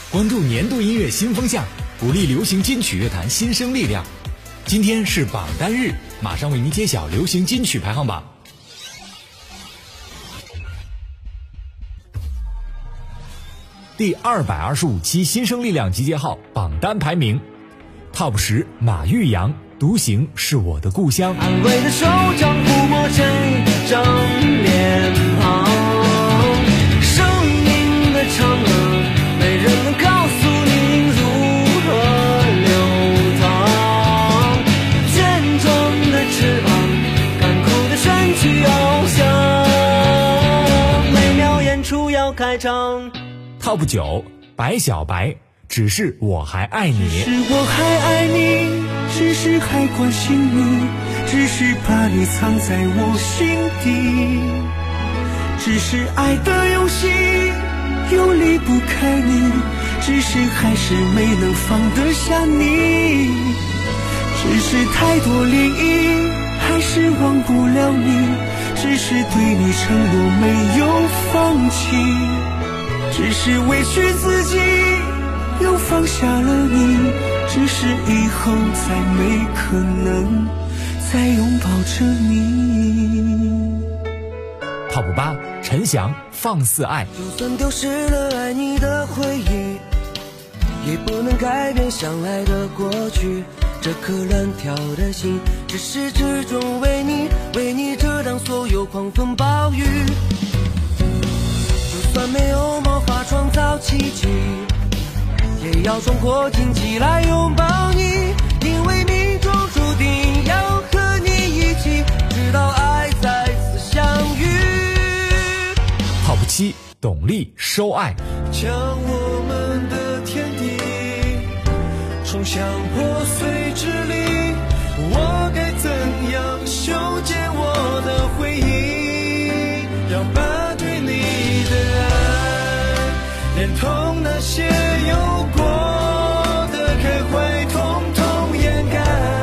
关注年度音乐新风向，鼓励流行金曲乐坛新生力量。今天是榜单日，马上为您揭晓流行金曲排行榜。第225期新生力量集结号榜单排名 Top 10，马玉阳，独行是我的故乡。 安慰的手掌抚摸成一张脸庞，生命的长河没人能告诉你如何流淌，健壮的翅膀，干枯的身躯翱翔，每秒演出要开场。 Top 9，白小白，只是我还爱你。 只是我还爱你，只是还关心你，只是把你藏在我心底，只是爱的游戏又离不开你，只是还是没能放得下你，只是太多涟漪还是忘不了你，只是对你承诺没有放弃，只是委屈自己又放下了你，只是以后再没可能再拥抱着你。 Top 8，陈翔，放肆爱。 就算丢失了爱你的回忆，也不能改变相爱的过去，这颗乱跳的心至始至终为你遮挡所有狂风暴雨，就算没有魔法创造奇迹，也要冲破荆棘来拥抱你，因为命中注定要和你一起，直到爱再次相遇。 Top 7，董力，收爱。 将我们的天地冲向破碎之地，我该怎样修剪我的回忆，要把对你的爱连同那些有过的开怀统统掩盖，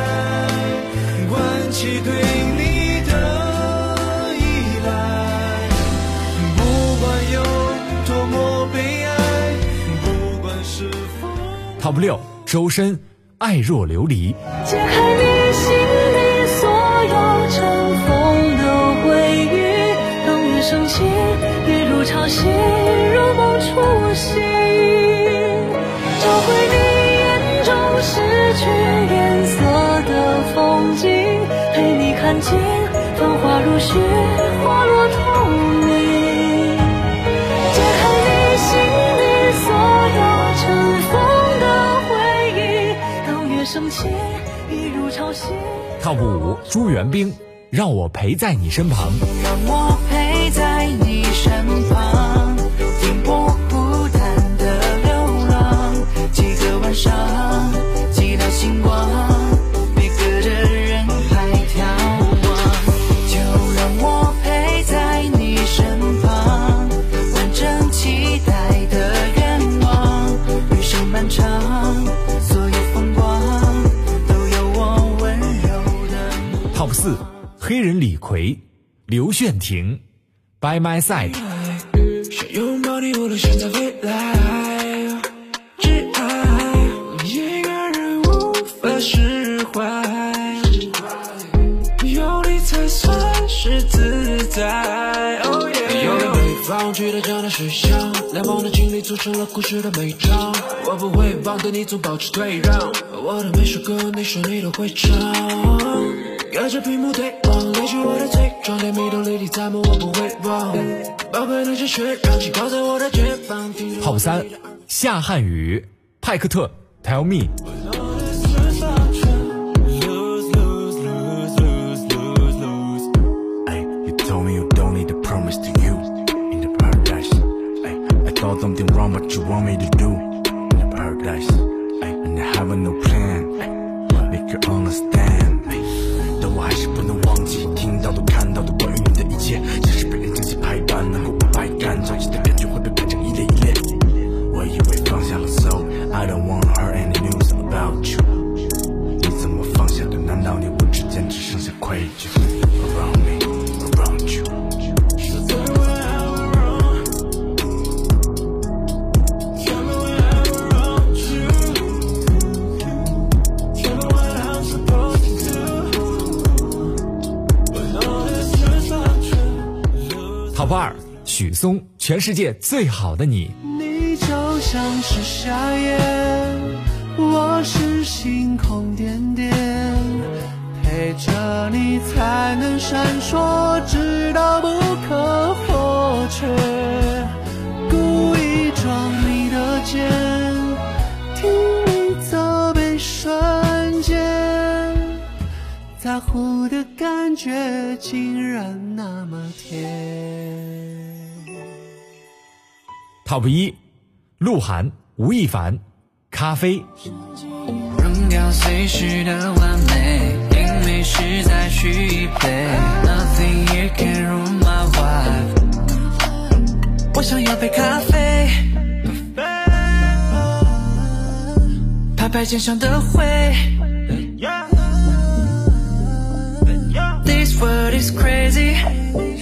关起对你的依赖，不管有多么悲哀，不管是否 Top 6，周深，爱若琉璃。 解开你心里所有尘封的回忆，当月升起，一如潮汐，如梦初醒，找回你眼中失去颜色的风景，陪你看见繁华如雪，花落透明。解开你心里所有尘封的回忆，当月升起，一如潮汐。 Top 5，朱元彬，让我陪在你身旁。 让我陪在你身旁，停泊孤单的流浪，几个晚上，几道星光，别隔着人海眺望。就让我陪在你身旁，完整期待的愿望，余生漫长，所有风光都有我温柔的。 Top 4，黑人李逵，刘炫婷， By My Side。 想拥抱你，无论现在未来，只爱一个人无法释怀，有你才算是自在。Oh yeah， 有了北方，去到江南水乡，两方的经历组成了故事的每章。我不会帮对你总保持退让，我的每首歌，你说你都会唱。隔着屏幕对望，勒住我的嘴，装点迷动泪滴在梦，我不会忘。宝贝那些血让气泡在我的肩膀。 Top 3，夏瀚宇，派克特， Tell Me。 Something wrong, but you want me to do in the paradise, and I have no plan. Make you understand. 但我还是不能忘记听到的、看到的关于你的一切，像是被人精心排版，能够不排干，着急的感觉会被排成一列一列。我以为放下了 ，so I don't wanna hear any news about you. 你怎么放下的？难道你我之间只剩下愧疚 ？Around me, around you. Top 2，许嵩，全世界最好的你。 你就像是夏夜，我是星空点点，陪着你才能闪烁，直到不可或缺。故意撞你的肩，听你责备瞬间，在乎的感觉竟然那么甜。 Top 1，鹿晗，吴亦凡，咖啡。 扔掉随时的完美，因为实在需一杯 Nothing you can ruin my vibe。 我想要杯咖啡，拍拍肩上的灰。 This world is crazy，